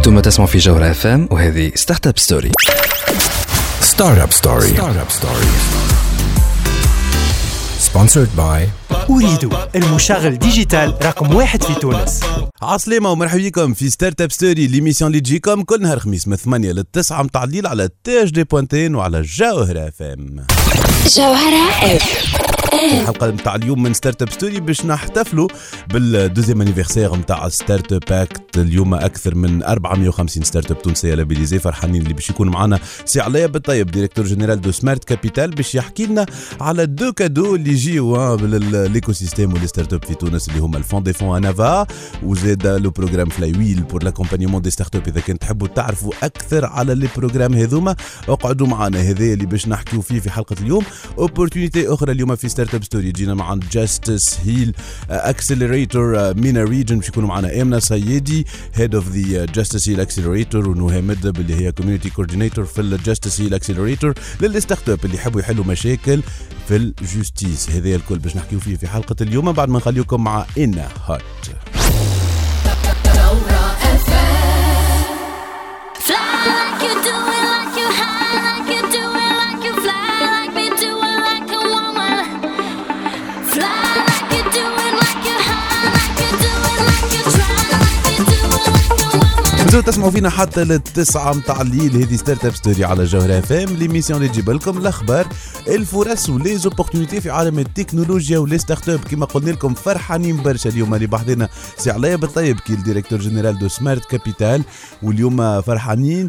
انتم تسمعوا في جوهرة اف ام وهذه ستارت اب ستوري. ستارت اب ستوري sponsored by أريد المشغل ديجيتال رقم 1 في تونس. عسلامة ومرحبا بكم في ستارت اب ستوري، ليميسيون اللي تجيكم كل نهار خميس من 8 ل 9 متاع الليل على تاج دي بوانتين وعلى جوهرة اف ام. جوهرة اف الحلقة متاع اليوم من ستارت اب ستوري باش نحتفلوا بالدوزيام انيفرسير متاع ستارت اب اكت. اليوم اكثر من 450 ستارت اب تونسية لابيليزي فرحانين اللي باش يكون معنا سي علاء بالطيب ديريكتور جنرال دو سمارت كابيتال باش يحكي لنا على دو كادو اللي يجيو بالايكو سيستيم ولي ستارت اب في تونس اللي هما الفون دي فون انافا وزاد لو بروغرام فلاي ويل بور لاكومبانيمون دي ستارت اب. اذا كنت تحبوا تعرفوا اكثر على لي بروغرام هذوما اقعدوا معنا، هذا اللي باش نحكيو فيه في حلقة اليوم. اوبورتونيتي اخرى اليوم في ستارت اب ستوري جينا مع جاستس هيل اكسلريتور مينا ريجن باش يكونوا معنا امنا سيدي هيد اوف ذا جاستس هيل اكسلريتور ونهى مدب اللي هي كوميونتي كوردينيتور في الجاستس هيل اكسلريتور للستارت اب اللي يحبوا يحلوا مشاكل في الجوستيس. هذا الكل باش نحكيو فيه في حلقة اليوم بعد ما نخليكم مع إنا هات. تسمعوا فينا حتى للتسعة متاع الليل. هذه ستارت اب ستوري على جوهرة اف ام، ليميسيون اللي تجيب لكم الاخبار الفرص وليزوبورتونيتي في عالم التكنولوجيا ولي ستارت اب. كما قلنا لكم فرحانين برشا اليوم اللي بحضرنا سي علاء بالطيب كي الديريكتور جنرال دو سمارت كابيتال، واليوم فرحانين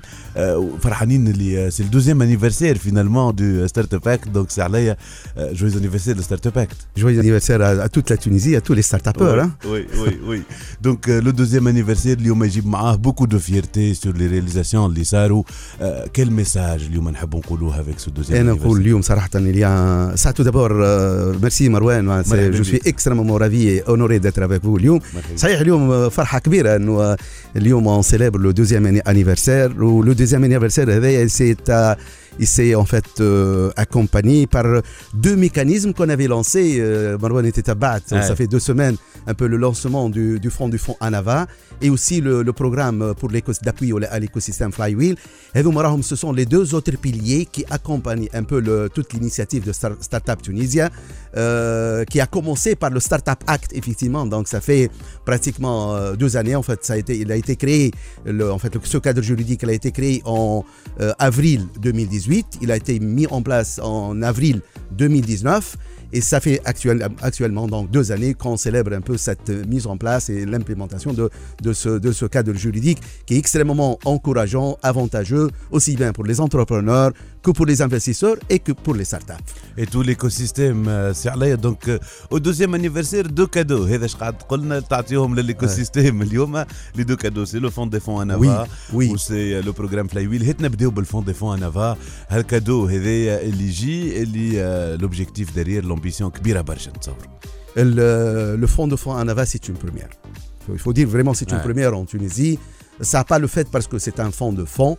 اللي سي الدوزيام انيفرسير فينالمون دو ستارت اب اكت. دونك سي علاء جويز انيفرسير دو ستارت اب اكت. Joyeux anniversaire à toute la Tunisie, à tous les start-upers. Oui. Donc le deuxième anniversaire اليوم يجيب معاه beaucoup de fierté sur les réalisations اللي صاروا. Quel message اليوم نحب نقولوه avec ce deuxième أنا anniversaire. نقول اليوم صراحة ça tout d'abord merci Marwan, je suis extrêmement ravi et honoré d'être avec vous اليوم. صحيح اليوم فرحة كبيرة إنه اليوم on célèbre le deuxième anniversaire ou le deuxième anniversaire هذا il s'est en fait accompagné par deux mécanismes qu'on avait lancés. Marwan était à Bat, ça fait 2 semaines, un peu le lancement du fonds Anava et aussi le programme pour d'appui à l'écosystème Flywheel. Et donc, ce sont les 2 autres piliers qui accompagnent un peu toute l'initiative de Startup Tunisia, qui a commencé par le Startup Act, effectivement. Donc, ça fait pratiquement 2 années. En fait, il a été créé, ce cadre juridique il a été créé en avril 2018. Il a été mis en place en avril 2019. Et ça fait actuellement donc 2 années qu'on célèbre un peu cette mise en place et l'implémentation de ce cadre juridique qui est extrêmement encourageant, avantageux, aussi bien pour les entrepreneurs que pour les investisseurs et que pour les startups. Et tout l'écosystème c'est عليا. Donc au deuxième anniversaire 2 cadeaux. هذا اش قاعد قلنا تعطيهم للإيكوسيستم اليوم. Les 2 cadeaux c'est le fond des fonds Anava ou c'est le programme Flywheel. هات نبداو بالفond des fonds Anava. هالكادو هذا اللي يجي اللي l'objectif derrière l'ambition كبيرة برشا نتصور. Le fond de fonds Anava c'est une première. Il faut dire vraiment c'est une première en Tunisie. Ça n'a pas le fait parce que c'est un fonds de fonds.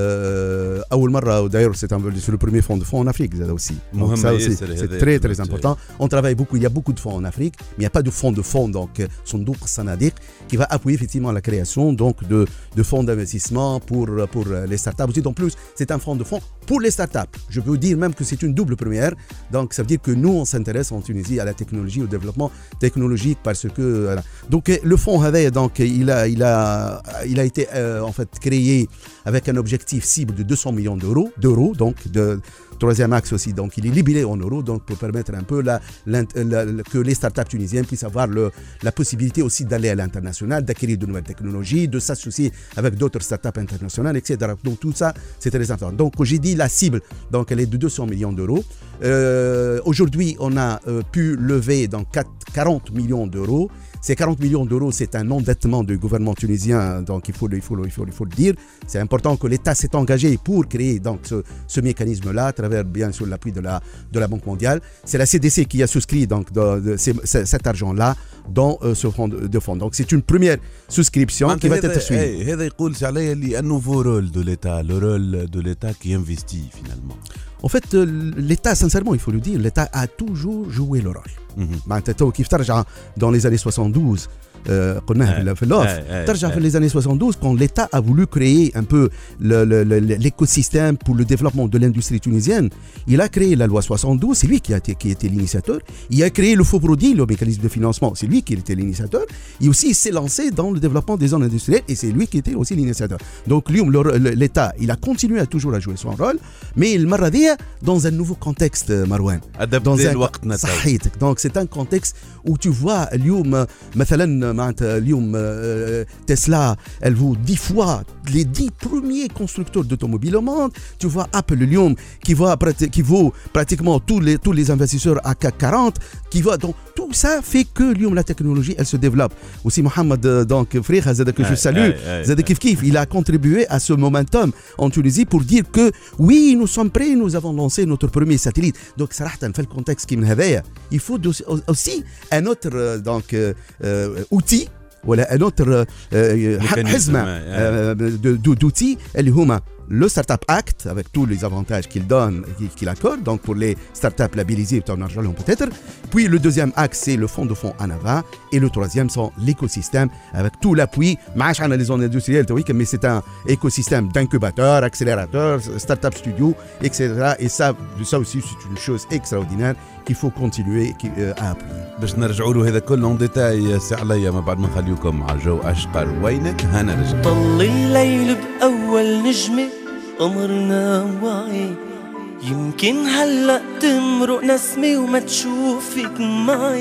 D'ailleurs, c'est le premier fonds de fonds en Afrique aussi. Donc ça aussi, c'est très très important. On travaille beaucoup, il y a beaucoup de fonds en Afrique, mais il n'y a pas de fonds, donc Sondouk Sanadik, qui va appuyer effectivement la création donc, de fonds d'investissement pour les startups. Aussi, en plus, c'est un fonds de fonds pour les startups. Je peux dire même que c'est une double première. Donc ça veut dire que nous, on s'intéresse en Tunisie à la technologie, au développement technologique parce que... Donc le fonds donc, il a été en fait créé avec un objectif cible de 200 millions d'euros, donc de troisième axe aussi, donc il est libellé en euros, donc pour permettre un peu que les startups tunisiennes puissent avoir la possibilité aussi d'aller à l'international, d'acquérir de nouvelles technologies, de s'associer avec d'autres startups internationales, etc. Donc tout ça, c'est très important. Donc j'ai dit la cible, donc elle est de 200 millions d'euros. Aujourd'hui, on a pu lever donc 40 millions d'euros. Ces 40 millions d'euros, c'est un endettement du gouvernement tunisien, donc il faut le dire. C'est important que l'État s'est engagé pour créer donc ce mécanisme-là à travers bien sûr l'appui de la Banque mondiale. C'est la CDC qui a souscrit donc cet argent-là dans ce fonds de fonds. Donc c'est une première souscription qui va être suivie. هذا يقول عليه اللي un nouveau rôle de l'État, le rôle de l'État qui investit finalement. En fait, l'État, sincèrement, il faut le dire, l'État a toujours joué le rôle. Dans les années 72, قلناها في اللوف ترجع في les années 72 quand l'État a voulu créer un peu l'écosystème pour le développement de l'industrie tunisienne. Il a créé la loi 72, c'est lui qui était l'initiateur. Il a créé le FOPRODI, le mécanisme de financement, c'est lui qui était l'initiateur. Et aussi il s'est lancé dans le développement des zones industrielles et c'est lui qui était aussi l'initiateur. Donc l'État, il a continué à toujours à jouer son rôle, mais il m'a dit dans un nouveau contexte, Marouane. Adapté le وقت صحيتك. Donc c'est un contexte où tu vois اليوم مثلا معناتها اليوم Tesla, elle vaut 10 fois les 10 premiers constructeurs d'automobiles au monde. Tu vois Apple اليوم qui vaut pratiquement tous les investisseurs à CAC 40 qui va donc tout ça fait que اليوم la technologie elle se développe. Aussi Mohamed donc frère Zada que je salue, Zada Kif il a contribué à ce momentum en Tunisie pour dire que oui, nous sommes prêts, nous avons lancé notre premier satellite. Donc صراحة في الcontexte qui من هذايا il faut aussi un autre donc outil ولا un autre حزمة d'outils اللي هما le Startup Act avec tous les avantages qu'il donne, qu'il accorde, donc pour les startups labellisées, peut-être. Puis le deuxième axe, c'est le fonds de fonds ANAVA. Et le troisième, c'est l'écosystème avec tout l'appui. Les zones industrielles, mais c'est un écosystème d'incubateurs, accélérateurs, startup studios, etc. Et ça aussi, c'est une chose extraordinaire qu'il faut continuer à appuyer. باش نرجعوا له هذا كله en détail سي عليا ما بعد ما نخليكم مع جو أشقر وينك هنرجع. طل الليل بأول نجمة قمرنا واعي يمكن هلأ تمرق نسمة وما تشوفك معي.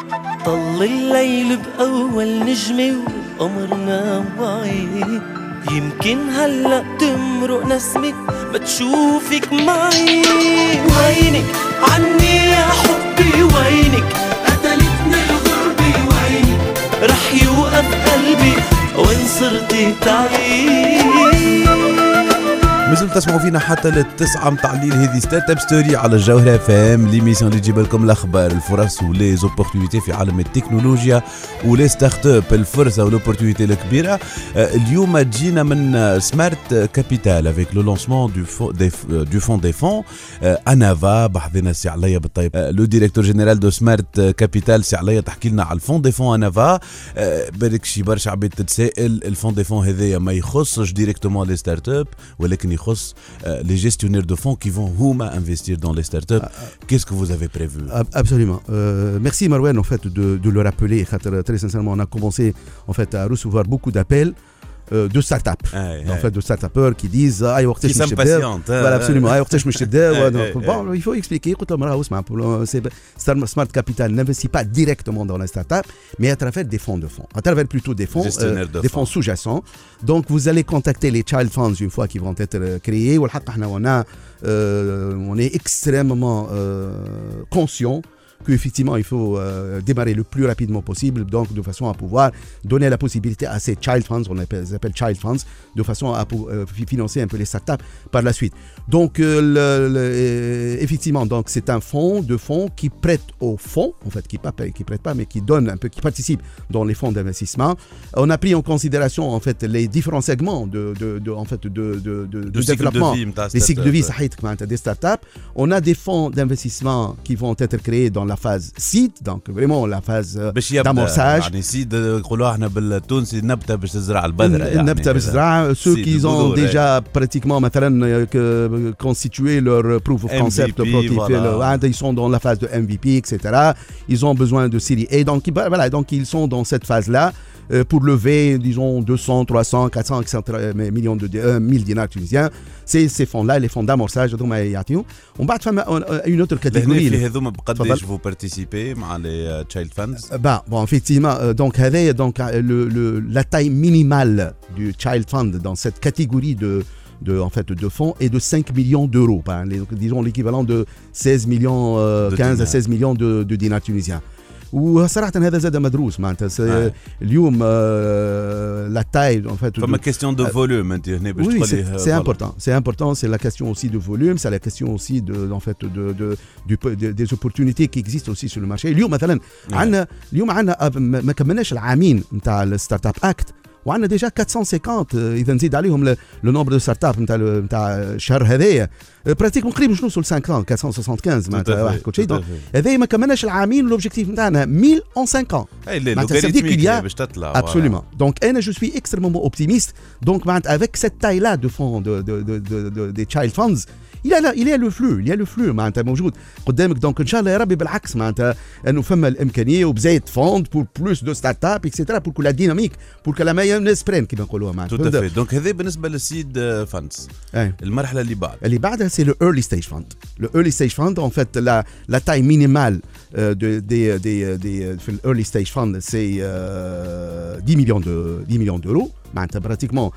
طل الليل بأول نجمة وقمرنا واعي يمكن هلأ تمرق نسمة ما تشوفك معي. وينك عني يا حبي وينك قتلتني الغربة وينك رح يوقف قلبي وين صرتي تعيش. مازلتوا تسمعوا فينا حتى للتسعة متاع الليل. هذه ستارت اب ستوري على الجوهرة FM ليميسيون اللي تجيب لكم الاخبار الفرص ولي زوبورتونيتي في عالم التكنولوجيا ولي ستارت اب الفرصة والاوبورتونيتي الكبيرة. اليوم جينا من سمارت كابيتال افيك لو لونسمون دو فون دي فون انافا. بحضنا سي عليا بالطيب لو ديريكتور جينيرال دو سمارت كابيتال. سي عليا تحكي لنا على الفون دي فون انافا. بالك شي برشا عباد تتسائل الفون دي فون هذايا ما يخصش ديريكتومون لي ستارت اب ولكن les gestionnaires de fonds qui vont investir dans les startups. Qu'est-ce que vous avez prévu? Absolument. Merci Marouane en fait de le rappeler. Très sincèrement, on a commencé en fait à recevoir beaucoup d'appels de start-up en fait de start-upers qui disent qui s'impatientent. Voilà, absolument. Bon, il faut expliquer. Smart Capital n'investit pas directement dans la start-up mais à travers des fonds de fonds, à travers plutôt des fonds fonds sous-jacents. Donc vous allez contacter les child funds une fois qu'ils vont être créés. On est extrêmement conscient qu'effectivement il faut démarrer le plus rapidement possible, donc de façon à pouvoir donner la possibilité à ces child funds, on les appelle child funds, de façon à financer un peu les startups par la suite. Donc effectivement, donc c'est un fonds qui prête aux fonds, en fait qui prête pas mais qui donne un peu, qui participe dans les fonds d'investissement. On a pris en considération en fait les différents segments de développement, les cycles de vie des startups. On a des fonds d'investissement qui vont être créés dans la phase seed, donc vraiment la phase d'amorçage. Ceux qui ont déjà pratiquement constitué leur proof of concept, ils sont dans la phase de MVP, etc. Ils ont besoin de série A, donc voilà, donc ils sont dans cette phase-là pour lever, disons, 200, 300, 400, millions de 1000 dinars tunisiens. C'est ces fonds-là, les fonds d'amorçage. On va faire une autre catégorie. Vous participez à les child funds? Bon, effectivement, donc la taille minimale du child fund dans cette catégorie de fonds est de 5 millions d'euros, disons l'équivalent de 16 millions, 15 à 16 millions de dinars tunisiens. وصراحة هذا زاد مدروس معناتها اليوم la taille en fait. Comme une question de volume. Oui, c'est important, c'est la question aussi de volume, c'est la question aussi des opportunités qui existent aussi sur le marché. اليوم مثلا عندنا ما كملناش العامين نتاع الستارت اب اكت. وعندنا ديجا 450 اذا نزيد عليهم لو نومبر دو ستارت اب نتاع الشهر هذايا براتيكمون قريب باش نوصل 500 475 معناتها واحد كل شيء. هذايا ما كملناش العامين لوبجيكتيف نتاعنا 1000 en 5 ans. معناتها باش تطلع absolument. Donc انا je suis extrêmement optimiste. Donc معناتها avec cette taille là de fonds des child funds il y a le flux معناتها موجود قدامك. دونك ان شاء الله يا ربي بالعكس معناتها انه فما الامكانيه وبزايد فوند بور بلوس دو ستارت اب اكسيتيرا بور كل ديناميك بور كل ما نسبرين كيما نقولوها معناتها. دونك هذا بالنسبه للسيد فاندز. المرحله اللي بعدها c'est le early stage fund. Le early stage fund en fait la taille minimale في early stage fund c'est 10 millions d'euros معناتها براتيكمون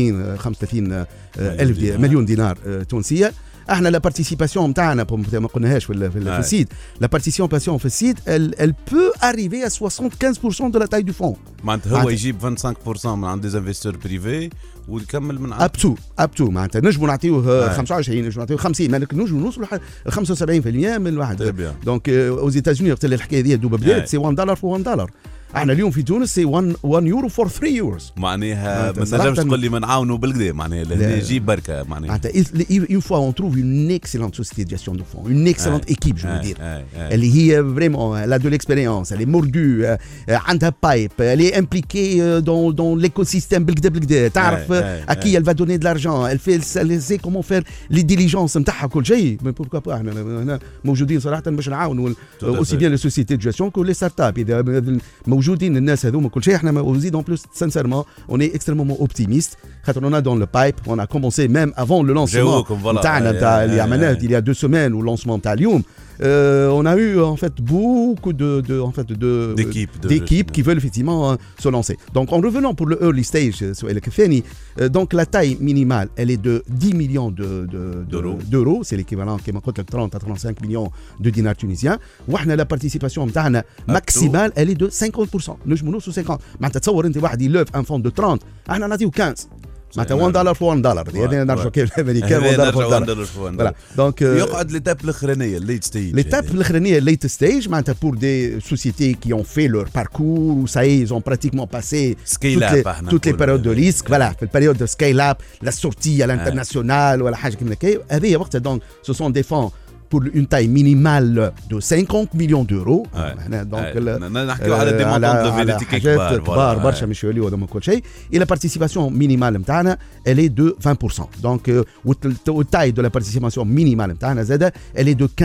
35 ألف مليون دينار تونسيه. احنا لا بارتيسيباسيون نتاعنا ما قلناهاش في السيد. لا بارتيسيباسيون في السيد elle peut arriver à 75% de la taille du fonds. معناتها هو يجيب 25% من عند دي انفستور بريفي ويكمل من عند اب تو معناتها نجموا نعطيوه 25 نجموا نعطيوه 50 ما نجموا نوصلوا ل 75% من الواحد. دونك aux États-Unis وقت الحكايه دي دوبا بدات سي $1 for $1. احنا اليوم في تونس سي 1 يورو فور 3 يوروز. معناها ما تنجمش تقول لي ما نعاونوا بالكدا معناها اللي يجيب بركه معناها. une fois on trouve une excellente société de gestion de fonds, une excellente équipe je veux dire. اللي هي vraiment elle a de l'expérience, elle est mordue, عندها بايب, elle est impliquée dans l'écosystème بالكدا تعرف à qui elle va donner de l'argent, elle sait comment faire les diligences نتاعها كل شيء. mais pourquoi pas احنا هنا موجودين صراحه باش نعاونوا aussi bien les sociétés de gestion que les startups. اذا موجودين الناس هذوما كل شيء احنا وزيد en plus sincèrement on est extrêmement optimiste خاطر on a dans le pipe on a commencé même avant le lancement نتاعنا نتاع اللي عملناه il y a 2 semaines au lancement نتاع اليوم. On a eu en fait beaucoup d'équipes qui veulent effectivement se lancer. Donc en revenant pour le early stage donc la taille minimale elle est de 10 millions d'euros, c'est l'équivalent كما قلت لك 30 à 35 millions de dinars tunisiens. واحنا la participation نتاعنا maximale elle est de 50%. نجموا نوصلوا 50. معناتها تصور انت واحد يلوف ان فوند دو 30 احنا نعطيو 15 معناتها $1 for $1. هذا نرجعوا كيف الامريكان $1 for $1. دونك يقعد ليتاب الاخرانيه الليت ستيج. ليتاب الاخرانيه الليت ستيج معناتها pour des sociétés qui ont fait leur parcours ou ça y est ils ont pratiquement passé toutes les périodes de risque. Voilà في البريود de scale up la sortie à l'international ولا حاجه كيما هكا. هذه وقتها donc ce sont des fonds pour une taille minimale de 50 millions d'euros. Donc نحكيو على دي مونطون دو فيليتيك كبار برشا مش يوليو هذوما كل شيء. et la participation minimale نتاعنا elle est de 20%. donc والتاي de la participation minimale نتاعنا زاده elle est de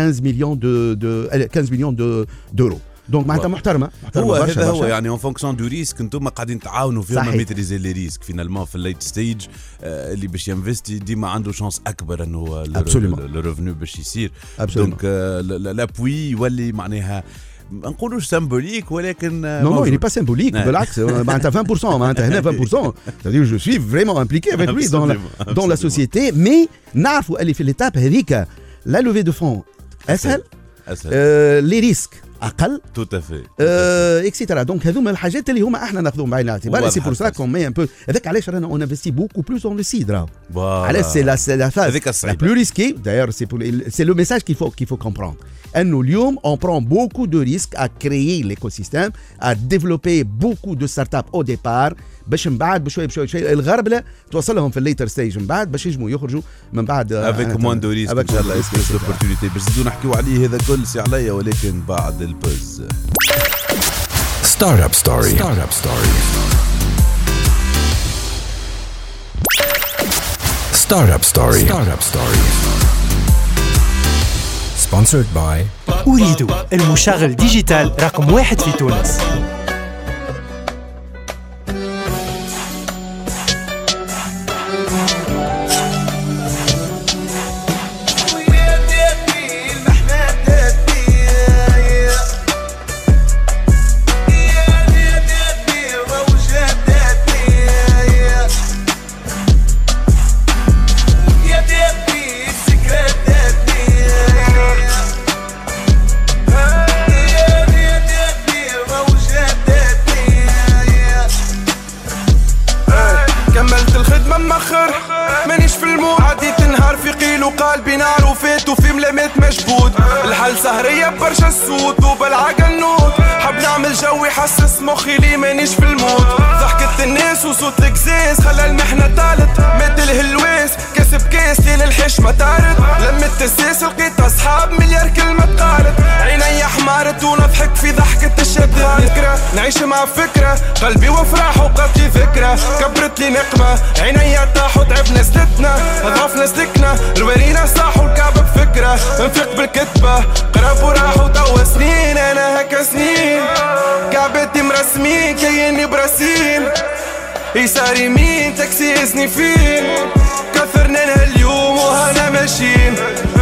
15 millions d'euros. دونك معناتها محترمه هو هذا هو يعني اون فونكسيون دو ريسك انتم قاعدين تعاونوا فيهم ميتريزي لي ريسك فينالمون في الليت ستيج. اللي باش ينفستي ديما عنده شانس اكبر انه لو ريفونو باش يصير. دونك لابوي يولي معناها ما نقولوش سيمبوليك ولكن non il n'est pas symbolique بالعكس معناتها 20% معناتها هنا 20% c'est-à-dire je suis vraiment impliqué avec lui dans la société. mais نعرفوا اللي في الإتاب هذيك la levée de fonds اسهل les risques اقل tout à fait اكسيتيرا. دونك هذوما الحاجات اللي هما احنا ناخذوهم بعين الاعتبار. سي بور سا كون مي ان بو هذاك علاش رانا اون انفستي بوكو بلوس اون لو سيد راهو علاش سي لا فاز لا بلو ريسكي داير سي لو ميساج qu'il faut comprendre انه اليوم on prend beaucoup de risques à créer l'écosystème à développer beaucoup de startups au départ باش من بعد بشوي الغربله توصلهم في الليتر ستيج من بعد باش يجموا يخرجوا من بعد افيك موان دو ريسك ان شاء الله اسبيس اوبورتونيتي باش نزيدوا نحكيوا عليه هذا كل سي عليا ولكن بعد البوز. Startup Story. Sponsored by أريد المشغل ديجيتال رقم 1 في تونس. قلبي نار وفيت وفي ملامات مشبود الحل سهرية برشا الصوت وبالعقل نوت حب نعمل الجو يحسس مخي لي مانيش في المود. ضحكة الناس وصوت الكزاز خلى المحنة طالت. مد الهلواس كسب كاس ليل الحشمة طارت. لمت الساس لقيت اصحاب مليار كلمة قالت. عيني حمارت ونضحك في ضحكة الشدة. نذكرة نعيش مع فكرة قلبي وفرح وقت لي ذكرى. كبرت لي نقمة عيني طاحوا تعبنا سدتنا. ضعفنا سلكنا الورينا صاحوا الكعب بفكرة. نفيق بالكتبة قرب وراحوا توا سنين. انا هكا سنين كعبتي مرسمين كيني براسين. يسار يمين تاكسي يزني فين. كثرنا اليوم وهنا ماشيين.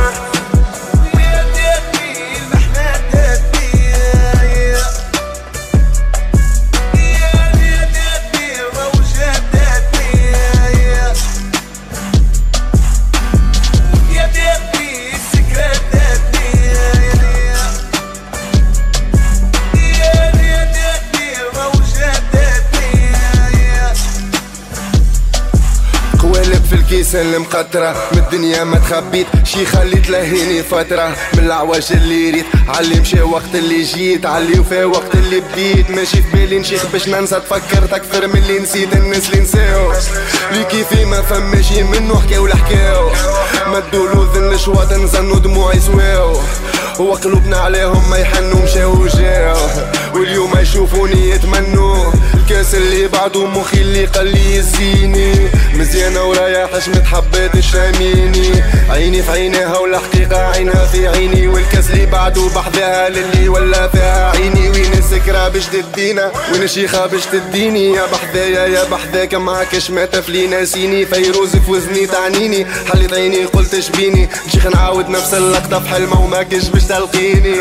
كيسان المقطرة من الدنيا ما تخبيت شي خليت لهيني فترة. من العواج اللي ريت علي مشى وقت اللي جيت. علي وفا وقت اللي بديت ماشي في بالي نشيخ باش ننسى. تفكرت اكثر من اللي نسيت الناس اللي نساو. لي كيفي ما فماشي منو حكاو لحكاو. مدولو ذن الشواط نزنو دموع يسواو. وقلوبنا عليهم ما يحنوا مشاو وجاو. واليوم يشوفوني يتمنوا الكاس اللي بعده مخي اللي قلي يزيني. مزيانة ورايا حشمة حبات الشاميني. عيني في عينيها والحقيقة عينها في عيني. والكاس اللي بعده بحذاها للي ولا فيها عيني. وين السكرة باش تدينا وين الشيخة باش تديني. يا بحذايا يا بحذاك معاكش ما تفلي ناسيني. فيروز في وزني تعنيني حليت عيني قلت شبيني. نشيخ نعاود نفس اللقطة في حلمة وما كش باش تلقيني.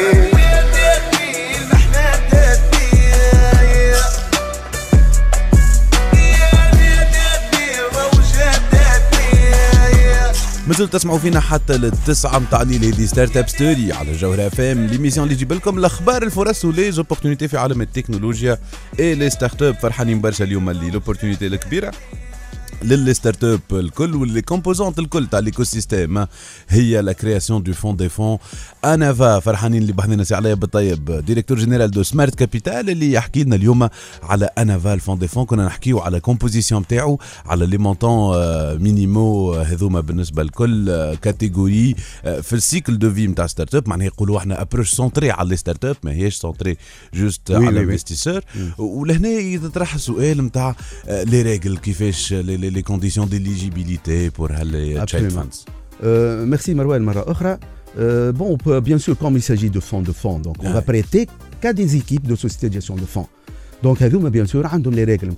مازلتوا تسمعوا فينا حتى للتسعة متاع الليل. هذه ستارت اب ستوري على جوهرة اف ام، ليميسيون اللي تجيب لكم الاخبار الفرص ولي زوبورتونيتي في عالم التكنولوجيا اي لي ستارت اب. فرحانين برشا اليوم اللي لوبورتونيتي الكبيره للي ستارت اب الكل واللي كومبوزونت الكل تاع ليكو سيستيم هي لا كرياسيون دو فون دي فون انافا. فرحانين اللي بحثنا سي عليا بالطيب ديريكتور جينيرال دو سمارت كابيتال اللي يحكي لنا اليوم على انافا الفون دي فون. كنا نحكيو على كومبوزيسيون تاعو على لي مونطون مينيمو هذوما بالنسبه لكل كاتيجوري في السيكل دو في نتاع ستارت اب. معناها يقولوا احنا ابروش سونتري على لي ستارت اب ماهيش سونتري جوست على الانفستيسور. ولهنا يطرح السؤال نتاع لي ريغل كيفاش les conditions d'éligibilité pour les child funds. Merci Marouane مرة أخرى. Bon, bien sûr, comme il s'agit de fonds, donc on va prêter qu'à des équipes de sociétés de gestion de fonds. Donc, bien sûr, عندهم les règles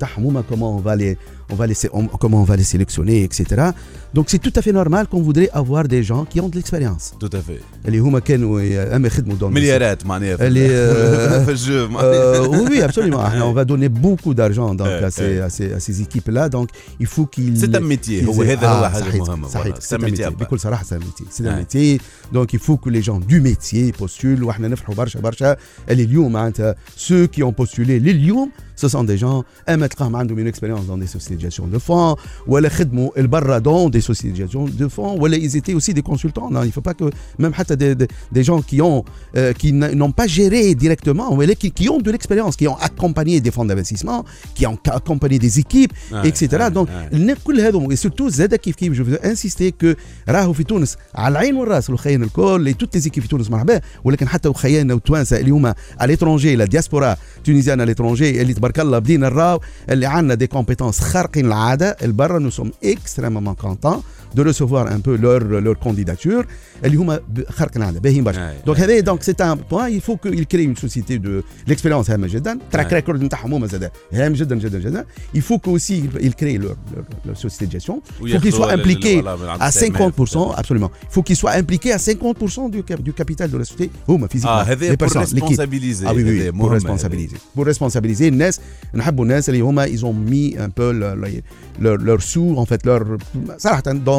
comment on va les sélectionner, etc. Donc, c'est tout à fait normal qu'on voudrait avoir des gens qui ont de l'expérience. Tout à fait. اللي هما كانوا يخدموا dans مليارات معناها في الجو. Oui, absolument. On va donner beaucoup d'argent donc à ces équipes-là. Donc, il faut qu'ils. C'est un métier. هذا هو حاجة مهمة. C'est un métier. بكل صراحة c'est un métier. C'est un métier. Donc, il faut que les gens du métier postulent. وإحنا نفرحوا برشا. اللي اليوم معناتها ceux qui ont postulé لليوم ce sont des gens تلقاهم عندهم une expérience dans des sociétés de gestion de fonds ولا خدموا البرة dans des sociétés de gestion de fonds ولا ils étaient aussi des consultants. Non, il faut pas que même حتى des gens qui n'ont pas géré directement ولا qui ont de l'expérience, qui ont accompagné des fonds d'investissement, qui ont accompagné des équipes, etc. Donc كل هذوم surtout زاد كيف je veux insister que راهو في تونس على العين والراس والخيان الكل toutes les équipes في تونس مرحبا. ولكن حتى وخياننا وتوانسه اللي هما على l'étranger la diaspora tunisienne à l'étranger اللي تبارك الله بدينا نراو اللي عندنا des compétences خارقين العاده البرة. Nous sommes extrêmement contents de recevoir un peu leur candidature اللي هما خارق العاده باهيين برشا. Donc هذا donc c'est un point. Il faut qu'il crée une société de l'expérience هامه جدا. تراك ريكورد نتاعهم هما زاد هام جدا. Il faut que aussi il crée leur société de gestion. Il faut qu'ils soient impliqués à 50%. Absolument. Il faut qu'ils soient impliqués à 50% du capital de la société. هما physiquement les personnes, l'équipe. Ah oui, pour responsabiliser الناس. نحبوا الناس اللي هما ils ont mis un peu leur sous en fait leur صراحة dans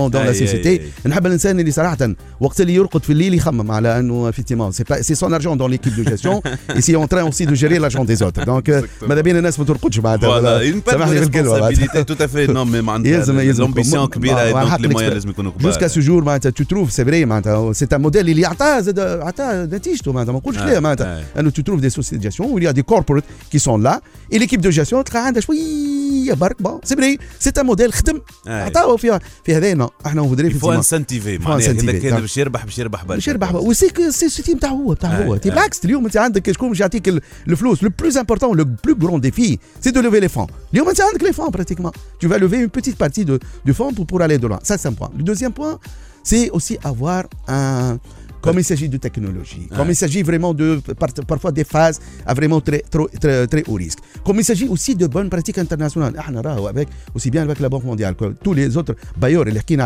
dans la société. نحب الانسان اللي صراحه وقت اللي يرقد في الليل يخمم على انه effectivement c'est son argent dans l'équipe de gestion et c'est en train aussi de gérer l'argent des autres. Donc ماذا بين الناس ما ترقدش معناتها. سامحني بالكلمه. tout à fait non mais معناتها l'ambition كبيره donc les moyens لازم يكونوا كبار. jusqu'à ce jour معناتها tu trouves c'est vrai معناتها c'est un modèle اللي عطاه نتيجته معناتها ما نقولش لا معناتها انه tu trouves des sociétés de gestion où il y a des corporates qui sont là et l'équipe de gestion تلقى عندها شويه برك bon c'est vrai c'est un modèle خدم عطاو في هذانا احنا ودري في فو انسنتيفي معناها اذا كان باش يربح وسي سيستيم تاع هو بالعكس اليوم انت عندك شكون باش يعطيك الفلوس. Le plus important, le plus grand défi, c'est de lever les fonds. اليوم انت عندك les fonds pratiquement. Tu vas lever une petite partie du fonds pour aller de loin. Ça c'est un point. Le deuxième point, c'est aussi avoir un comme il s'agit de technologie, comme il s'agit vraiment de parfois des phases à vraiment très haut risque, comme il s'agit aussi de bonnes pratiques internationales. Avec aussi bien avec la Banque mondiale que tous les autres bailleurs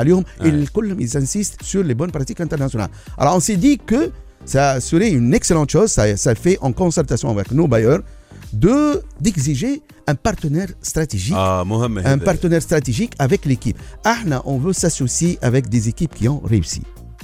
ils insistent sur les bonnes pratiques internationales. Alors on s'est dit que ça serait une excellente chose, ça fait en concertation avec nos bailleurs d'exiger un partenaire stratégique, un partenaire stratégique avec l'équipe. On veut s'associer avec des équipes qui ont réussi.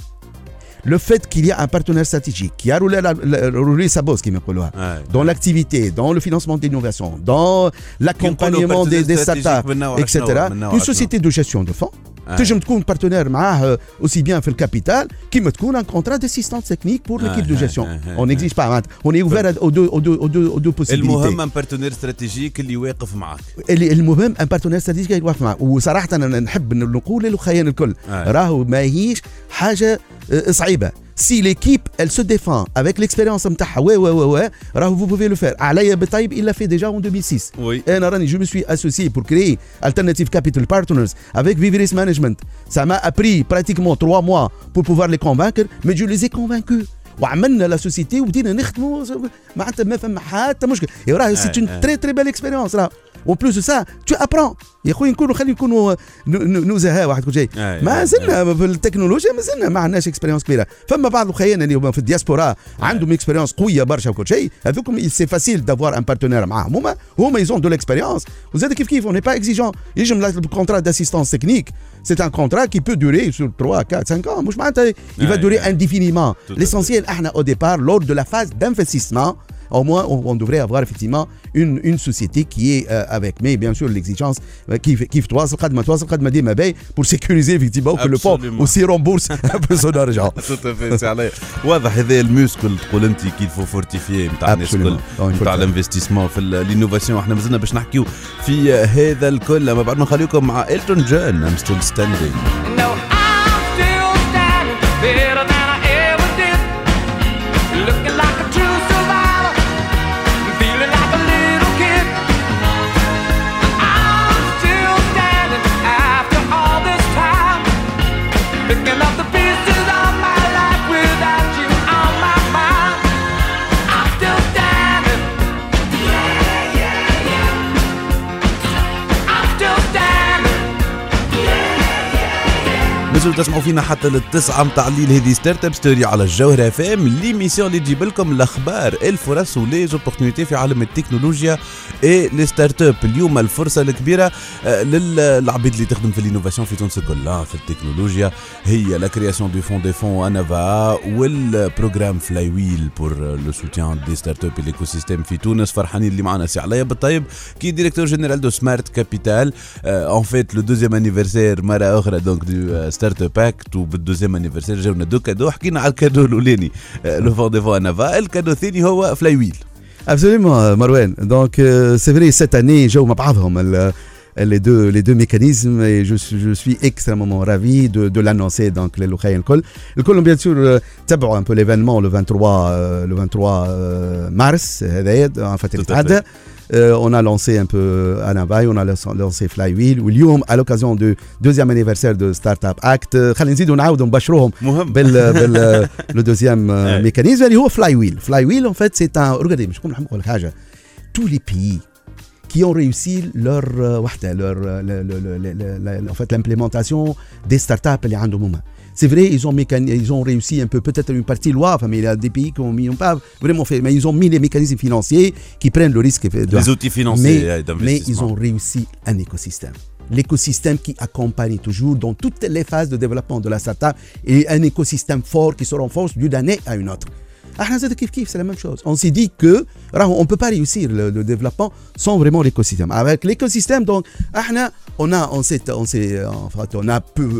Le fait qu'il y a un partenaire stratégique qui a roulé sa bosse, dans l'activité, dans le financement d'innovation, dans l'accompagnement des startups, etc. Une société de gestion de fonds. تنجم تكون بارتنير معاه aussi bien في الكابيتال كيما تكون un contrat d'assistance technique pour l'équipe de gestion. On n'exige pas, on est ouvert aux deux possibilités. المهم un partenaire stratégique اللي واقف معك. المهم un partenaire stratégique اللي واقف معك. وصراحة أنا نحب نقول للخيان الكل راهو ماهيش حاجة صعيبة. Si l'équipe elle se défend avec l'expérience نتاعها vous pouvez le faire. Alaya Betaib il l'a fait déjà en 2006. Oui. Je me suis associé pour créer Alternative Capital Partners avec Viveris Management. Ça m'a appris pratiquement 3 mois pour pouvoir les convaincre, mais je les ai convaincus. وعملنا لا سوسيتي ودينا نخدموا معناتها ما فما حتى مشكل. سي une très très belle expérience là. En plus de ça, tu apprends. يا خويا نكونوا نزهاء واحد كل شيء. ما زلنا في التكنولوجيا ما زلنا ما عندناش اكسبيريونس كبيره. فما بعض الخيانه اللي في الدياسبورا عندهم اكسبيريونس قويه برشا وكل شيء. هذوكم سي فاسيل دافوار ان بارتنير معاهم هما يزون دو ليكسبيريونس. وزاد كيف on n'est pas exigeant. يجم الكونترا d'assistance technique. C'est un contrat qui peut durer sur 3, 4, 5 ans. مش معناتها il va durer indéfiniment. L'essentiel au départ lors de la phase d'investissement. Au moins, on devrait avoir effectivement une société qui est avec, mais bien sûr l'exigence qui pour sécuriser effectivement que le fonds aussi rembourse un peu son argent. Tout à fait, c'est عليه. واضح هذا الموسكل تقول أنت qu'il faut fortifier نتاع الناس الكل نتاع الانفستيسمون في الانوفاسيون. احنا مازلنا باش نحكيو في هذا الكل أما بعد ما نخليكم مع إلتون جون I'm still standing. تسمعوا فينا حتى للتسعة متاع الليل. هذه ستارت اب ستوري على الجوهرة اف ام ليميسيون اللي تجيب لكم الاخبار الفرص وليزوبورتينيتي في عالم التكنولوجيا اي لي ستارت اب. اليوم الفرصه الكبيره للعبيد اللي تخدم في الانوفاسيون في تونس كلها في التكنولوجيا هي لا كرياسيون دو فون دي فون انافا والبروغرام فلاي ويل بور لو سوتيان دي ستارت اب الايكو سيستيم في تونس. فرحانين اللي معنا سي عليا بالطيب كي ديريكتور جينيرال دو سمارت كابيتال. ان فيت لو دوزيام انيفرسير مره اخرى دونك دو ستارت باكت وبالدوزيام انيفرسير جاونا دو كادو. حكينا على الكادو الاولاني لو فون دي فون انافا. الكادو الثاني هو فلاي ويل. Absolument, Marwan. Donc, c'est vrai, cette année, j'ai eu les deux mécanismes et je suis extrêmement ravi de l'annoncer. Donc, les Loukhaïen le Col, bien sûr, tabac un peu l'événement le 23 mars. En fait, on a lancé un peu Anavaï, on a lancé Flywheel. واليوم à l'occasion du 2e anniversaire de Startup Act خلينا نزيدوا نعاودوا نبشروهم le deuxième mécanisme اللي هو Flywheel. Flywheel en fait c'est un regardez مش نقول لكم حاجه tous les pays qui ont réussi leur en fait l'implémentation des startups اللي عندهم هما. C'est vrai, ils ont réussi un peu, peut-être une partie loi, mais il y a des pays qui n'ont pas vraiment fait, mais ils ont mis les mécanismes financiers qui prennent le risque. Les outils financiers mais ils ont réussi un écosystème. l'écosystème qui accompagne toujours dans toutes les phases de développement de la startup et un écosystème fort qui se renforce d'une année à une autre. C'est la même chose. On s'est dit que on ne peut pas réussir le développement sans vraiment l'écosystème. Avec l'écosystème, donc, on a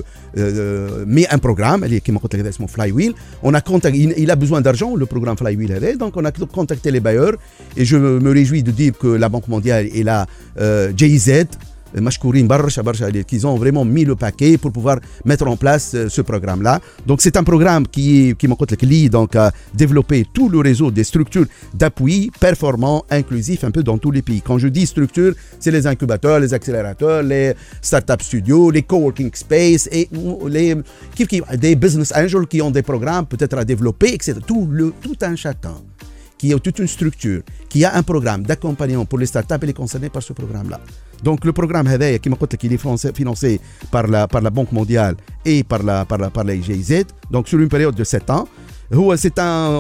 mis un programme qui m'a contacté Flywheel. Il a besoin d'argent, le programme Flywheel. Donc, on a contacté les bailleurs et je me réjouis de dire que la Banque mondiale et la GIZ, qu'ils ont vraiment mis le paquet pour pouvoir mettre en place ce programme-là. Donc, c'est un programme qui a développé tout le réseau des structures d'appui performants, inclusifs, un peu dans tous les pays. Quand je dis structures, c'est les incubateurs, les accélérateurs, les startup studios, les coworking space et des business angels qui ont des programmes peut-être à développer, etc. Tout un chacun qui a toute une structure, qui a un programme d'accompagnement pour les startups, elle est concernée par ce programme-là. Donc le programme Hadaya, qui est financé par la Banque mondiale et par la GIZ, donc sur une période de 7 ans, c'est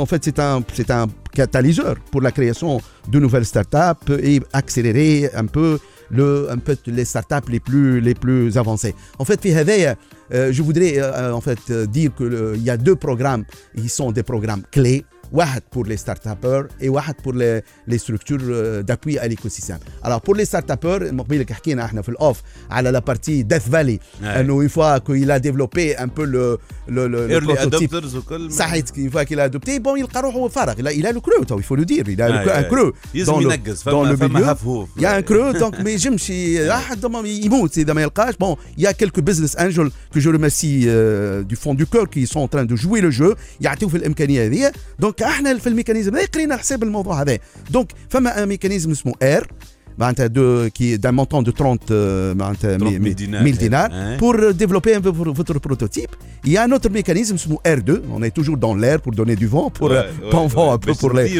un catalyseur pour la création de nouvelles startups et accélérer un peu les startups les plus avancées. En fait, je voudrais dire qu'il y a 2 programmes qui sont des programmes clés. واحد pour les start-upers et واحد pour les structures d'appui à l'écosystème. Alors pour les start-upers, مقبل حكينا احنا في الاوف على la partie Death Valley انه une fois qu'il a développé un peu le prototype صحيح une fois qu'il a adopté bon يلقى روحه فارغ il a le creux il faut le dire il a un creux dans le milieu il y a un creux donc ما يجمش احد يموت اذا ما يلقاش bon il y a quelques business angels que je remercie du fond du cœur qui sont en train de jouer le jeu يعطيو في الامكانيه هذه donc احنا في الميكانيزم هذا قرينا حساب الموضوع هذا دونك فما ان ميكانيزم اسمه اير معناتها qui d'un montant de 30 000 dinars pour développer votre prototype. Il y a un autre mécanisme اسمه R2, on est toujours dans l'air pour donner du vent pour un peu pour les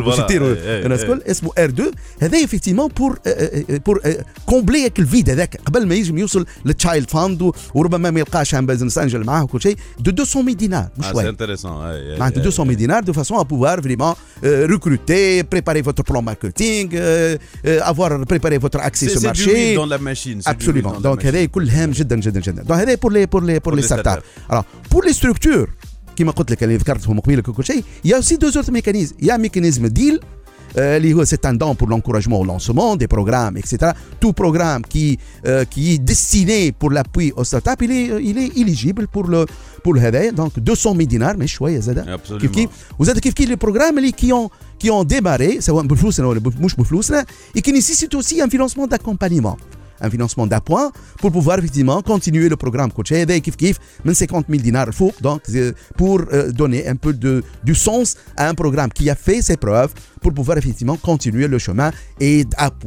اسمه R2 هذا effectivement pour combler le vide هذاك قبل ما يجي يوصل للتشايلد فاند وربما ما يلقاش un business angel معاه وكل شيء de 200 000 dinars مش شويه. C'est intéressant. معناتها 200 000 dinars de façon à pouvoir vraiment recruter, préparer votre plan marketing, préparer votre accès sur le marché. C'est du dans la machine. Absolument. Donc, هذا كل هام جدا جدا جدا. Donc, هذا pour les startups. Alors, pour les structures, كما قلت لك اللي ذكرتهم قبيله كل شيء, il y a aussi 2 autres mécanismes. Il y a un mécanisme deal. C'est un don pour l'encouragement au lancement des programmes, etc. Tout programme qui est destiné pour l'appui aux startups, il est éligible pour le هذا. Donc 200 000 dinars, mais شوية زادا. وزادا كيف les programmes qui ont démarré, سواء بفلوسنا ولا مش بفلوسنا, et qui nécessitent aussi un financement d'accompagnement. Un financement d'appoint pour pouvoir effectivement continuer le programme coach هذا كيف من 50 000 dinars فوق donc pour donner un peu du sens à un programme qui a fait ses preuves pour pouvoir effectivement continuer le chemin et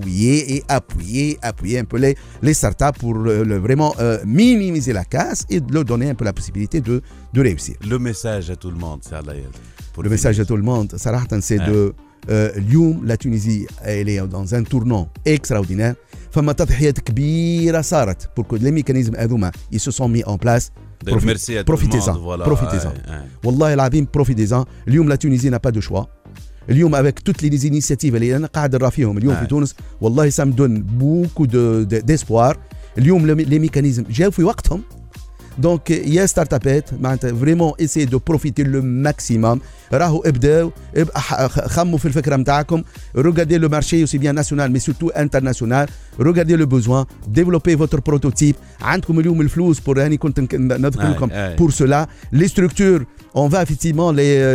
appuyer un peu les startups pour vraiment minimiser la casse et leur donner un peu la possibilité de réussir. Le message à tout le monde, c'est le message à tout le monde, صراحة c'est de اليوم la Tunisie elle est dans un tournant extraordinaire. فما تضحيات كبيرة صارت pour que les mécanismes هذوما ils se sont mis en place. Profitez-en. والله العظيم profitez-en. اليوم la Tunisie n'a pas de choix. اليوم avec toutes les initiatives اللي أنا قاعد نرى فيهم اليوم في تونس والله ça me donne beaucoup d'espoir. اليوم les mécanismes جاوا في وقتهم. Donc il y a startupet vraiment essayer de profiter le maximum. راهو ابداو خموا في الفكره نتاعكم. Regardez le marché aussi bien national mais surtout international. Regardez le besoin, développez votre prototype. عندكم اليوم الفلوس pour هاني كنت نذكر لكم pour cela. Les structures on va effectivement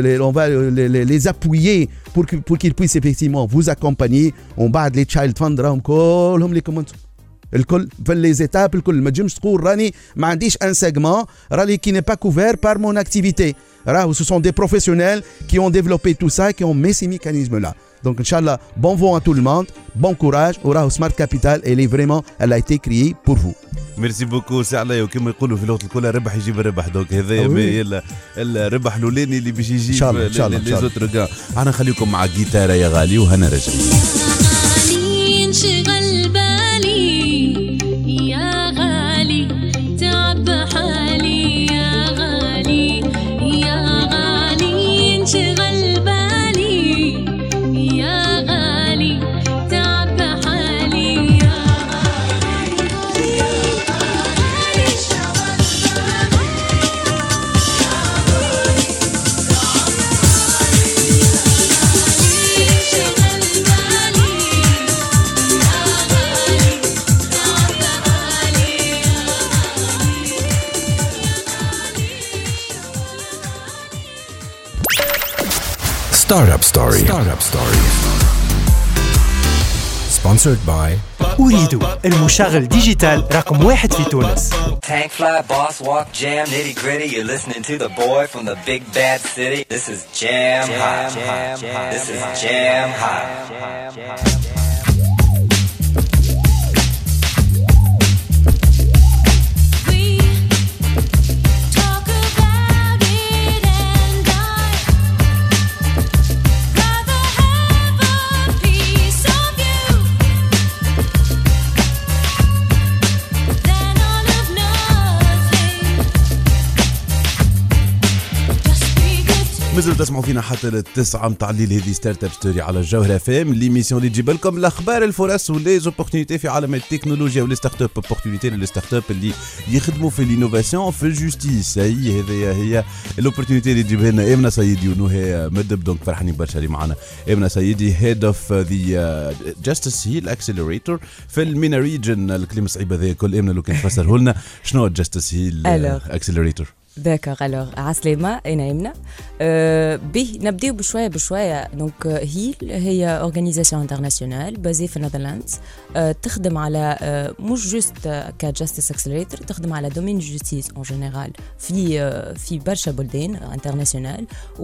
les appuyer pour qu'ils puissent effectivement vous accompagner. On بعد les child fund راهم كلهم لكم انتم الكل في les étapes الكل ما تجمش تقول راني ما عنديش un segment راني qui n'est pas couvert par mon activité. Ce sont des professionnels qui ont développé tout ça, qui ont mis ces mécanismes-là. Donc, Inch'Allah, bon vent à tout le monde, bon courage. Smart Capital, elle a été créée pour vous. ميرسي بوكو سي عليا وكما يقولوا في اللغه الكل الربح يجيب الربح دونك هذا الربح الاولاني اللي باش يجيب لي زوتر كاع. انا نخليكم مع جيتاره يا غالي وهنا راجعين. انشغل بالي يا غالي تعب حالي يا غالي يا غالي انشغل بالي يا غالي تعب حالي يا غالي Startup Story. Startup Story. Sponsored by أريد المشغل ديجيتال رقم 1 في تونس. Tank fly, boss walk, jam, nitty gritty. You're listening to the boy from the big bad city. This is Jam Hot. This is Jam Hot. مازلتوا تسمعوا فينا حتى التسعة متاع الليل. هذه ستارت اب ستوري على الجوهرة فام، ليميسيون اللي تجيب لكم الاخبار الفرص وليزوبورتينيتي في عالم التكنولوجيا ولي ستارت اب. اوبورتينيتي لي ستارت اب اللي يخدموا في الانوفاسيون في الجوستيس. هي الاوبورتينيتي اللي تجيبها لنا امنه سيدي ونهى مدب. دونك فرحانين برشا اللي معنا امنه سيدي هيد اوف ذا جاستس هيل اكسلريتور في المينا ريجن. الكلمه الصعيبه ذي كل امنه لو كان تفسره لنا شنو جاستس هيل اكسلريتور. داكوغ. الوغ عسلامة، أنا يمنى. به نبداو بشوية. دونك هيل هي اورغانيزاسيون انترناسيونال بازي في النيذرلاندز، تخدم على مش جوست كجاستس اكسلريتور، تخدم على دومين جوستيس اون جينيرال في برشا بلدان انترناسيونال.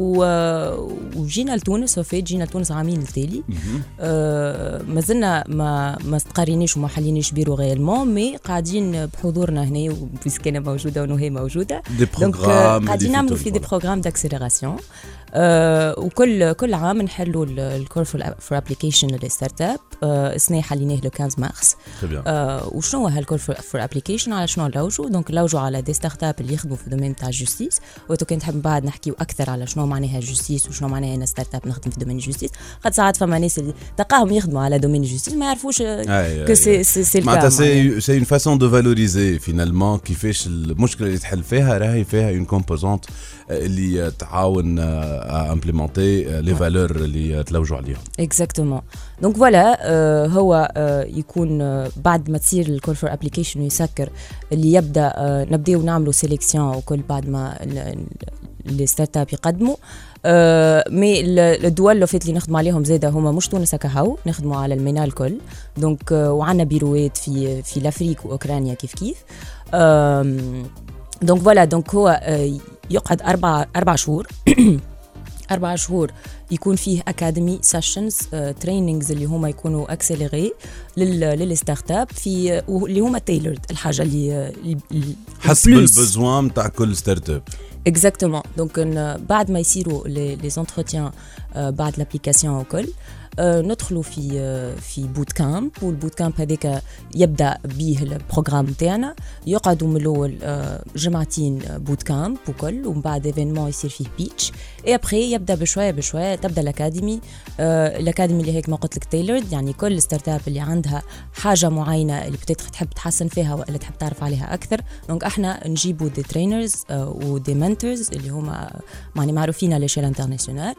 وجينا لتونس، جينا لتونس عامين التالي. مازلنا ما استقريناش وما حليناش بيرو غيالمون، مي قاعدين بحضورنا هنا وبسكينة موجودة ونهي موجودة. دونك قاعدين نعملوا في دي بروغرام داكسيليراسيون. وكل عام نحلوا الكور فور ابليكيشن للستارت اب. السنه حليناه لو 15 مارس. وشنو هو هالكور فور ابليكيشن؟ على شنو نلوجوا؟ دونك نلوجوا على دي ستارت اب اللي يخدموا في الدومين تاع الجوستيس. وتو كنت نحب بعد نحكيو اكثر على شنو معناها الجوستيس وشنو معناها انا ستارت اب نخدم في دومين الجوستيس. قد ساعات فما ناس اللي تلقاهم يخدموا على دومين الجوستيس ما يعرفوش كو سي معناتها سي اون فاسون دو فالوريزي فينالمون كيفاش المشكله اللي تحل فيها راهي فيها اون كومبوزونت اللي تعاون امبليمونتي لي فالور اللي تلوجوا عليهم. اكزاكتومون. دونك فوالا هو يكون بعد ما تصير الكول فور ابليكيشن يسكر اللي يبدا نبداو نعملوا سيليكسيون وكل بعد ما لي ستارت اب يقدموا. مي الدول اللي فات اللي نخدم عليهم زاده هما مش تونس كهو، نخدموا على المينا الكل. دونك وعندنا بيروات في لافريك واوكرانيا كيف دونك فوالا. دونك هو يقعد 4 شهور 4 شهور يكون فيه اكاديمي سيشنز تريننجز اللي هما يكونوا اكسليري للستارت اب في اللي هما تايلرد الحاجه اللي حسب البزوان تاع كل ستارت اب. اكزاكتومون. دونك بعد ما يصيروا لي زونتروتيان بعد لابليكاسيون وكل ندخلوا في بوت كامب. والبوت كامب هذاك يبدا به البروغرام تاعنا، يقعدوا من الاول جمعتين بوت كامب وكل، ومن بعد ايفينمون يصير فيه بيتش. اي ابري يبدا بشويه تبدا الاكاديمي اللي هيك ما قلت لك تايلرد، يعني كل ستارت اب اللي عندها حاجه معينه اللي بتقدر تحب تحسن فيها ولا تحب تعرف عليها اكثر. دونك احنا نجيبوا دي ترينرز ودي منتورز اللي هما يعني معروفين على شيل انترناسيونال،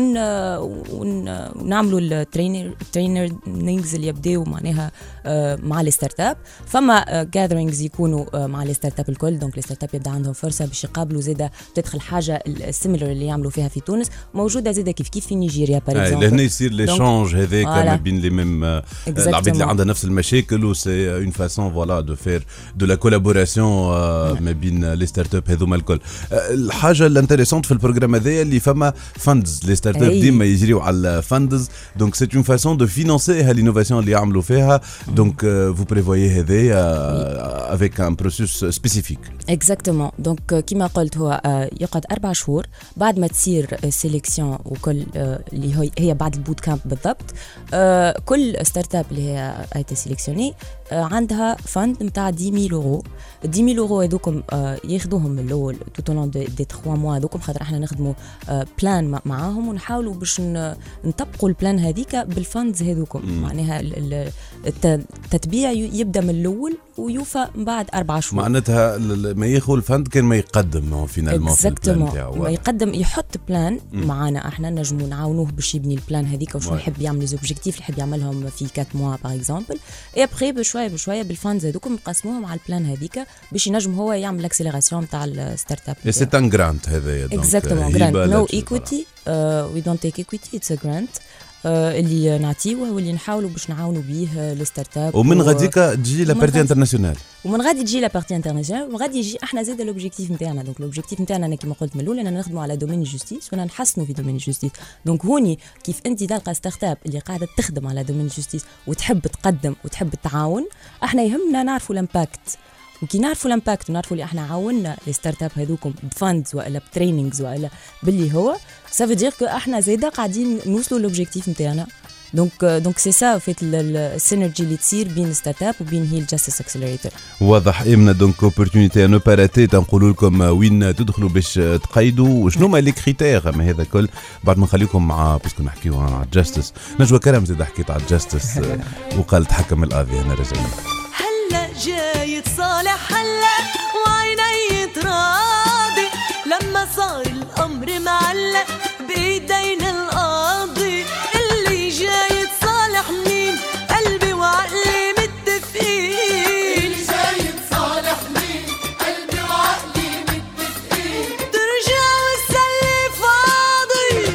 ونعملوا الترينرز اللي يبداو معناها مع الستارت اب. فما جاذرينجز يكونوا مع الستارت اب الكل. دونك الستارت اب يبدا عندهم فرصه باش يقابلوا زاده تدخل حاجه السيميلر اللي يعملوا فيها في تونس، موجوده زاده كيف في نيجيريا باغ اكزومبل. لهنا يصير ليشانج هذاك ما بين لي ميم العباد اللي عندها نفس المشاكل، و سي اون فاسون فوالا دو فير دو لا كولابوراسيون ما بين لي ستارت اب هذوما الكل. الحاجه الانتريسونت في البروغرام هذايا اللي فما فاندز. لي ستارت اب ديما يجريو على الفاندز. دونك سي اون فاسون دو فينانسي هالانوفاسيون اللي يعملوا فيها. دونك فو بريفويي هذايا افيك ان بروسيس سبيسيفيك. اكزاكتومون. دونك كيما قلت هو يقعد 4 شهور بعد ما تصير سيليكسيون وكل اللي هي بعد البوت كامب بالضبط. كل ستارت اب اللي هي ايتي سيليكسيوني عندها فند نتاع 10,000 يورو. 10,000 يورو هذوكم ياخذوهم من الاول تو طولون دي 3 موا هذوكم، خاطر احنا نخدموا بلان معاهم ونحاولوا باش نطبقوا البلان البلان هذيك بالفاندز هذوكم. معناها التتبيع يبدا من الاول ويوفى بعد 4 شهور. معناتها ما ياخذ الفند كان ما يقدم فينالمون في البلان تاعو، ما يقدم يحط بلان معنا، احنا نجمو نعاونوه باش يبني البلان هذيك وشنو يحب يعمل، لي زوبجيكتيف اللي يحب يعملهم في 4 موا باغ اكزومبل، اي ابخي بشويه بالفاندز هذوكم نقسموهم على البلان هذيك باش ينجم هو يعمل الاكسيليراسيون تاع الستارت اب. سي ان جرانت هذايا اكزاكتومون جرانت، نو ايكويتي، وي دونت تيك ايكويتي، اتس ا جرانت اللي نعطيوه واللي نحاولوا باش نعاونوا بيه الستارت اب. ومن غاديك تجي لا بارتي انترناسيونال، ومن غادي تجي لا بارتي انترناسيونال، ومن غادي يجي احنا زاد الاوبجيكتيف نتاعنا. دونك الاوبجيكتيف نتاعنا انا كيما قلت من الاول انا نخدموا على دومين جوستيس وانا نحسنوا في دومين جوستيس. دونك هوني كيف انت تلقى ستارت اب اللي قاعده تخدم على دومين جوستيس وتحب تقدم وتحب التعاون، احنا يهمنا نعرفوا الامباكت. وكي نعرفوا الامباكت ونعرفوا اللي احنا عاوننا لي ستارت اب هذوكم بفاندز ولا بترينينغز ولا باللي هو سافو دير كو احنا زاده قاعدين نوصلوا لوبجيكتيف نتاعنا. دونك سي سا فيت السينرجي اللي تصير بين ستارت اب وبين هي الجاستس اكسلريتور. واضح امنا دونك اوبورتونيتي نو باراتي. تنقولوا لكم وين تدخلوا باش تقيدوا وشنو هما لي كريتير. ما هذا كل بعد ما نخليكم مع باسكو نحكيو على الجاستس. نجوى كرم زاد حكيت على الجاستس وقال تحكم القاضي. انا رجعنا هلا جاي تصالح هلا وعيني تراضي لما صار الامر معلق بايدينا القاضي. اللي جاي تصالح مين؟ قلبي وعقلي متفقين. اللي جاي تصالح مين؟ قلبي وعقلي متفقين. ترجع والسلي فاضي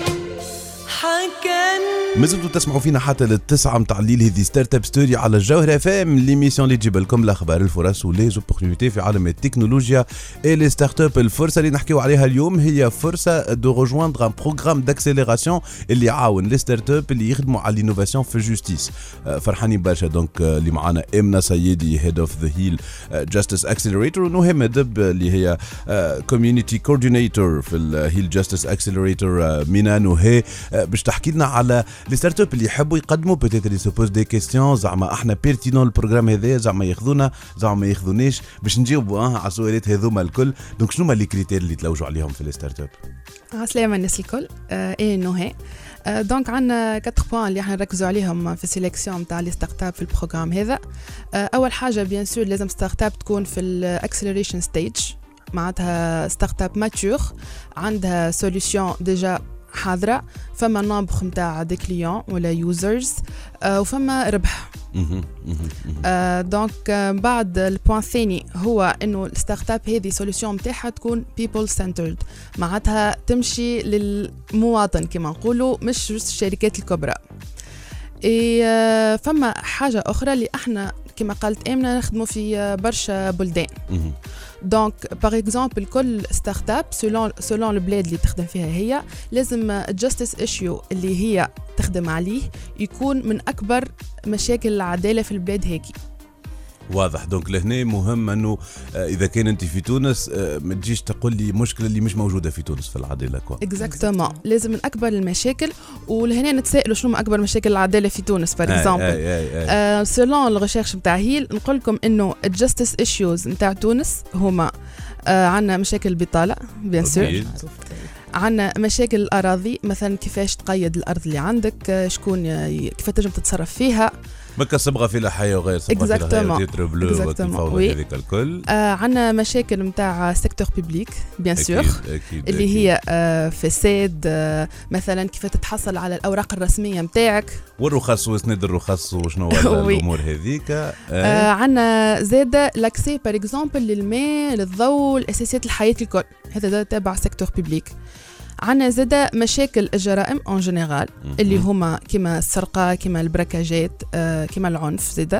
حكن. مازلتوا تسمعوا فينا حتى للتسعة متاع الليل. هذه ستارت اب ستوري على الجوهرة فام، ليميسيون اللي تجيب لكم الاخبار الفرص ولي زوبورتونيتي في عالم التكنولوجيا اي لي ستارت اب. الفرصه اللي نحكيو عليها اليوم هي فرصه دو ريجويندر ان بروغرام داكسيليراسيون اللي يعاون لي ستارت اب اللي يخدموا على الانوفاسيون في الجوستيس. فرحانين برشا دونك اللي معنا امنا سيدي هيد اوف ذا هيل جاستس اكسلريتور، ونهى دب اللي هي كوميونيتي كوردينيتور في الهيل جاستس اكسلريتور. مينا نهى باش تحكي لنا على لي ستارت اب اللي يحبوا يقدموا بوتيتر لي سوبوز دي كيستيون زعما احنا بيرتينون البروغرام هذا زعما ياخذونا زعما ما ياخذونيش باش نجاوبوا على السؤالات هذوما الكل. دونك شنو هما لي كريتير اللي تلوجوا عليهم في لي ستارت اب؟ عسلامة الناس الكل. ايه نهى دونك عندنا 4 بوان اللي احنا نركزوا عليهم في السيليكسيون نتاع لي ستارت اب في البروغرام هذا. اول حاجه بيان سور لازم ستارت اب تكون في الاكسلريشن ستيج، معناتها ستارت اب ماتور عندها سوليوشن ديجا حاضرة، فما نومبر نتاع دي كليون ولا يوزرز وفما ربح. دونك بعد البوان الثاني هو انه الستارت اب هذه سوليوشن نتاعها تكون بيبل سنترد، معناتها تمشي للمواطن كما نقولوا مش بس الشركات الكبرى. فما حاجة أخرى اللي احنا كما قالت آمنة نخدموا في برشا بلدان. دونك باغ اكزومبل كل ستارت اب سولون البلاد اللي تخدم فيها هي لازم الجاستس ايشيو اللي هي تخدم عليه يكون من أكبر مشاكل العدالة في البلاد هيك. واضح. دونك لهنا مهم انه اذا كان انت في تونس ما تجيش تقول لي مشكله اللي مش موجوده في تونس في العداله كوا. اكزاكتومون لازم من اكبر المشاكل. ولهنا نتسائلوا شنو اكبر مشاكل العداله في تونس باغ اكزومبل. سولون الريشيرش نتاع هيل نقول لكم انه الجاستس ايشوز نتاع تونس هما عندنا مشاكل البطاله بيان سور، عندنا مشاكل الأراضي مثلا كيفاش تقيد الأرض اللي عندك، شكون كيف تنجم تتصرف فيها، بكا صبغه في الحياه وغير صبغه في الحياه تيتر بلو والفوضى هذيك الكل. عندنا مشاكل نتاع سيكتور بيبليك بيان سور اللي هي فساد مثلا كيف تتحصل على الأوراق الرسمية نتاعك والرخص وسند الرخص وشنو الأمور هذيك. عندنا زادة لاكسي باغ اكزومبل للماء للضوء الأساسيات الحياة الكل، هذا تابع سيكتور بيبليك. عنا زادة مشاكل الجرائم اون جينيرال اللي هما كما السرقة كما البركاجات كما العنف زادة،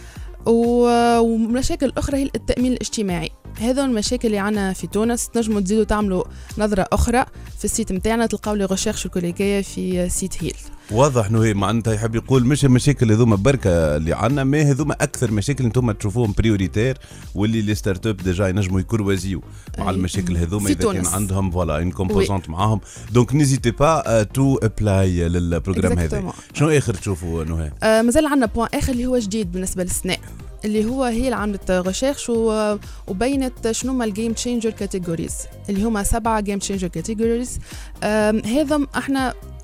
ومشاكل أخرى هي التأمين الاجتماعي. هذا المشاكل اللي عنا في تونس. تنجموا تزيدوا تعملوا نظرة أخرى في السيت متاعنا تلقاو لي ريشيرش الكوليكية في سيت هيل. واضح انه هي معناتها يحب يقول مش المشاكل هذوما بركه اللي عندنا، ما هذوما اكثر مشاكل انتم تشوفوهم بريوريتير واللي لي ستارت اب ديجا ينجموا يكروازيو مع المشاكل هذوما اذا كان عندهم فوالا ان كومبوزونت معاهم. دونك نيزيتي با تو ابلاي للبروجرام هذا. شنو اخر تشوفوا نهى؟ مازال عندنا بوان اخر اللي هو جديد بالنسبه للسناء، اللي هو هي اللي عملت ريشيرش وبينت شنو هما الجيم تشينجر كاتيجوريز اللي هما 7 جيم تشينجر كاتيجوريز. هذا احنا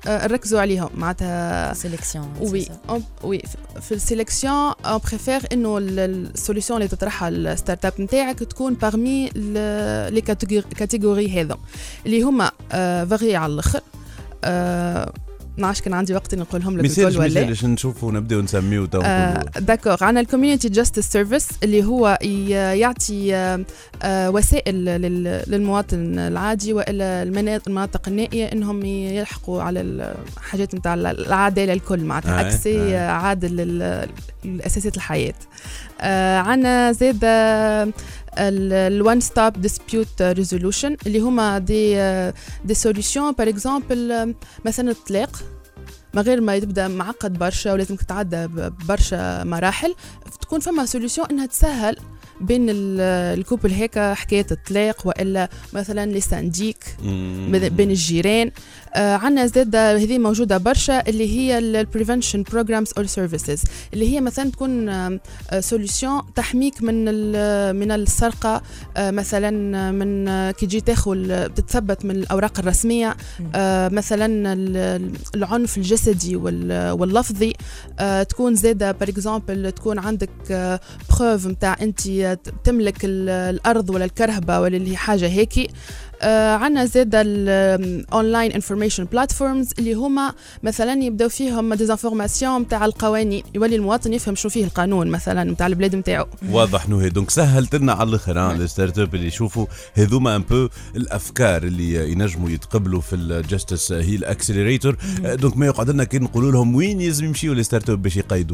نركزوا عليهم معناتها سيليكسيون. وي في السيليكسيون اون بريفير انه السوليوشن اللي تطرحها الستارت اب نتاعك تكون بارمي لي كاتيجوري هذا اللي هما فاري على الاخر. نعرفش كان عندي وقت نقولهم لك الكل ولا لا. مثال نشوفوا نبداو نسميو تو. داكور. عندنا الكوميونيتي جاستس سيرفيس اللي هو يعطي وسائل للمواطن العادي والا المناطق النائيه انهم يلحقوا على الحاجات نتاع العداله الكل معناتها اكسي عادل لاساسيات الحياه. عندنا زاد الوان ستوب ديسبيوت ريزولوشن اللي هما دي سوليوشن باغ اكزومبل مثلا الطلاق ما غير ما يبدا معقد برشا ولازم تتعدى برشا مراحل تكون فما سوليوشن انها تسهل بين الكوبل هيك حكايه الطلاق والا مثلا لي سانديك بين الجيران. عندنا زاد هذه موجوده برشا اللي هي البريفنشن بروجرامز اور سيرفيسز اللي هي مثلا تكون سوليوشن تحميك من السرقه مثلا من كي تجي تاخذ تتثبت من الاوراق الرسميه مثلا العنف الجسدي واللفظي تكون زاده باغ اكزومبل تكون عندك بروف نتاع انت تملك الارض ولا الكرهبه ولا اللي حاجه هيك. عنا زاد الاونلاين انفورميشن بلاتفورمز اللي هما مثلا يبداو فيهم ديزانفورماسيون نتاع القوانين يولي المواطن يفهم شو فيه القانون مثلا نتاع البلاد نتاعو. واضح نو هي دونك سهلت لنا على الاخر الستارت اب اللي يشوفوا هذوما ان بو الافكار اللي ينجموا يتقبلوا في الجاستس هيل اكسلريتور. دونك ما يقعد لنا كي نقولوا لهم وين يلزم يمشيوا الستارت اب باش يقيدوه.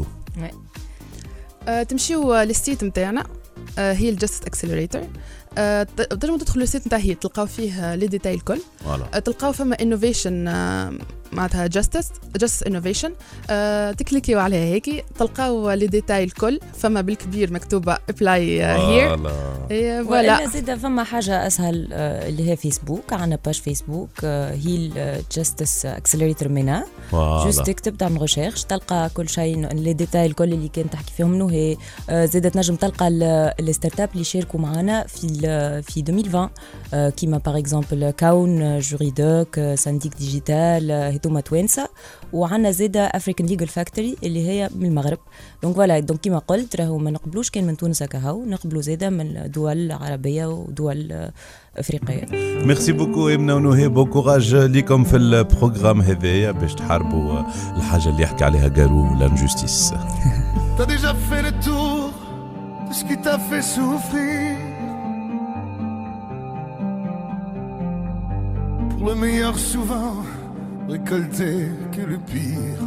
تمشيو للسيت نتاعنا هي الجاستس اكسلريتور. تنجموا تدخلوا السيت نتاع هي تلقاو فيه لي ديتاي الكل. تلقاو فما انوفيشن معناتها جاستس انوفيشن تكليكيو عليها هيك تلقاو لي ديتاي الكل فما بالكبير مكتوبه ابلاي هير. ولا زيد فما حاجه اسهل اللي هي فيسبوك. عندنا باج فيسبوك هي الجاستس اكسلريتور مينا جوست تكتب تعمل ريشيرش تلقى كل شيء لي ديتاي الكل اللي كنت تحكي فيهم انه هي زيد تنجم تلقى الستارت اب اللي شاركوا معنا في 2020 كيما باغ اكزومبل كون جوريدوك سانديك ديجيتال هذوما توانسه. وعندنا زاده افريكان ليجل فاكتوري اللي هي من المغرب. دونك فوالا دونك كيما قلت راهو ما نقبلوش كان من تونس كهو نقبلوا زاده من دول عربيه ودول افريقيه. ميرسي بوكو امنا ونوهي بو كوراج ليكم في البروغرام هذايا باش تحاربوا الحاجه اللي يحكي عليها غارو لانجوستيس. T'as déjà fait le tour de ce qui t'a fait souffrir. Pour le meilleur souvent récolter que le pire.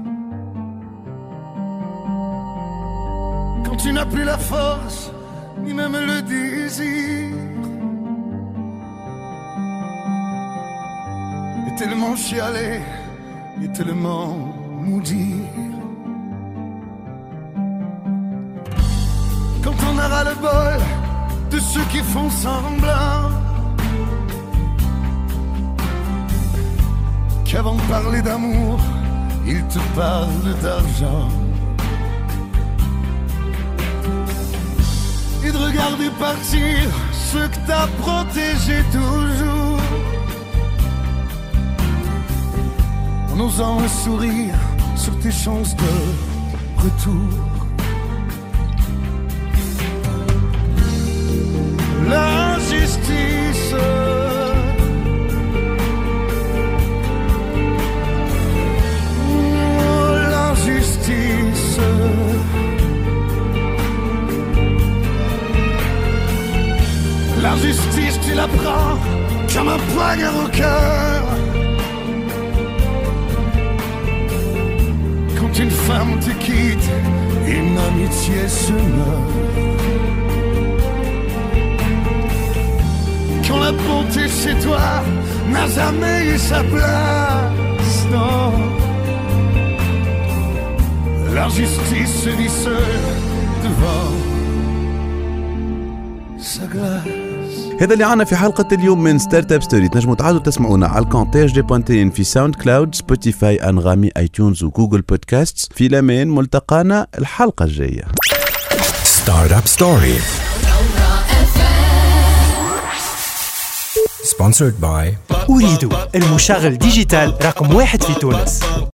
Quand tu n'as plus la force ni même le désir. Et tellement chialer et tellement maudire. Quand on aura le bol de ceux qui font semblant qu'avant de parler d'amour, ils te parlent d'argent. Et de regarder partir ceux que t'as protégés toujours. En osant un sourire sur tes chances de retour. L'injustice l'injustice l'injustice tu la prends comme un poignard au cœur. Quand une femme te quitte, une amitié se meurt. Quand la bonté chez toi n'a jamais eu sa place, non. La justice se dit seule devant sa glace. هذا اللي عنا في حلقة اليوم من ستارت اب ستوري. تنجموا تعادوا تسمعونا على الكونتاج دي بوانتين في ساوند كلاود سبوتيفاي انغامي ايتونز وجوجل بودكاست. في الأمان ملتقانا الحلقة الجاية. ستارت اب ستوري. Sponsored by أريد المشغل ديجيتال رقم 1 في تونس.